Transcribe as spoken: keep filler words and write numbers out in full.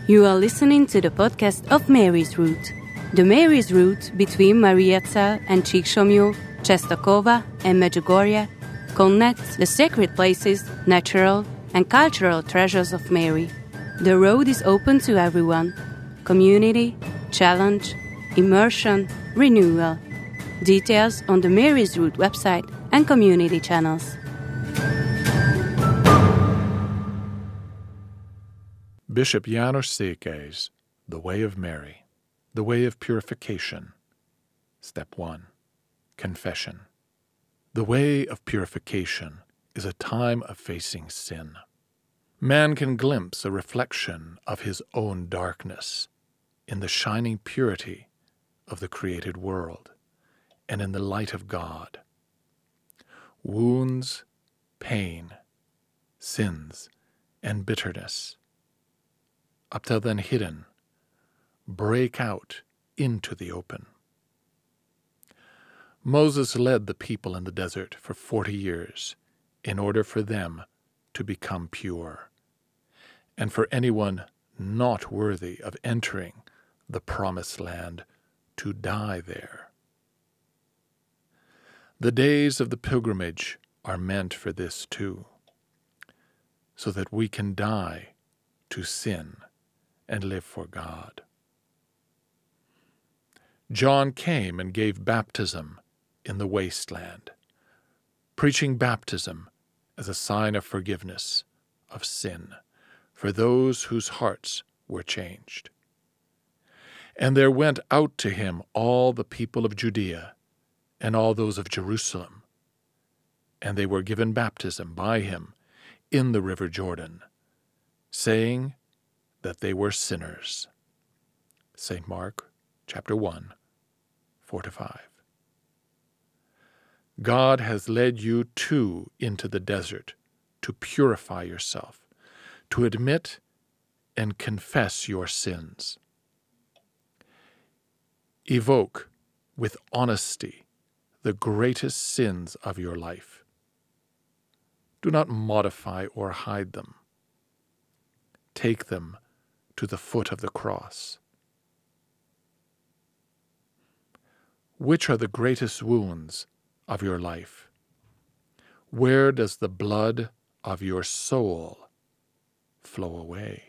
You are listening to the podcast of Mary's Route. The Mary's Route between Mariazell and Csíksomlyó, Czestochowa and Medjugorje connects the sacred places, natural and cultural treasures of Mary. The road is open to everyone. Community, challenge, immersion, renewal. Details on the Mary's Route website and community channels. Bishop János Székely's The Way of Mary, The Way of Purification. Step one. Confession. The way of purification is a time of facing sin. Man can glimpse a reflection of his own darkness in the shining purity of the created world and in the light of God. Wounds, pain, sins, and bitterness, up till then hidden, break out into the open. Moses led the people in the desert for forty years in order for them to become pure, and for anyone not worthy of entering the promised land to die there. The days of the pilgrimage are meant for this too, so that we can die to sin and live for God. John came and gave baptism in the wasteland, preaching baptism as a sign of forgiveness of sin for those whose hearts were changed. And there went out to him all the people of Judea and all those of Jerusalem, and they were given baptism by him in the river Jordan, saying that they were sinners. Saint Mark, chapter one, four to five. God has led you too into the desert to purify yourself, to admit and confess your sins. Evoke with honesty the greatest sins of your life. Do not modify or hide them. Take them to the foot of the cross. Which are the greatest wounds of your life? Where does the blood of your soul flow away?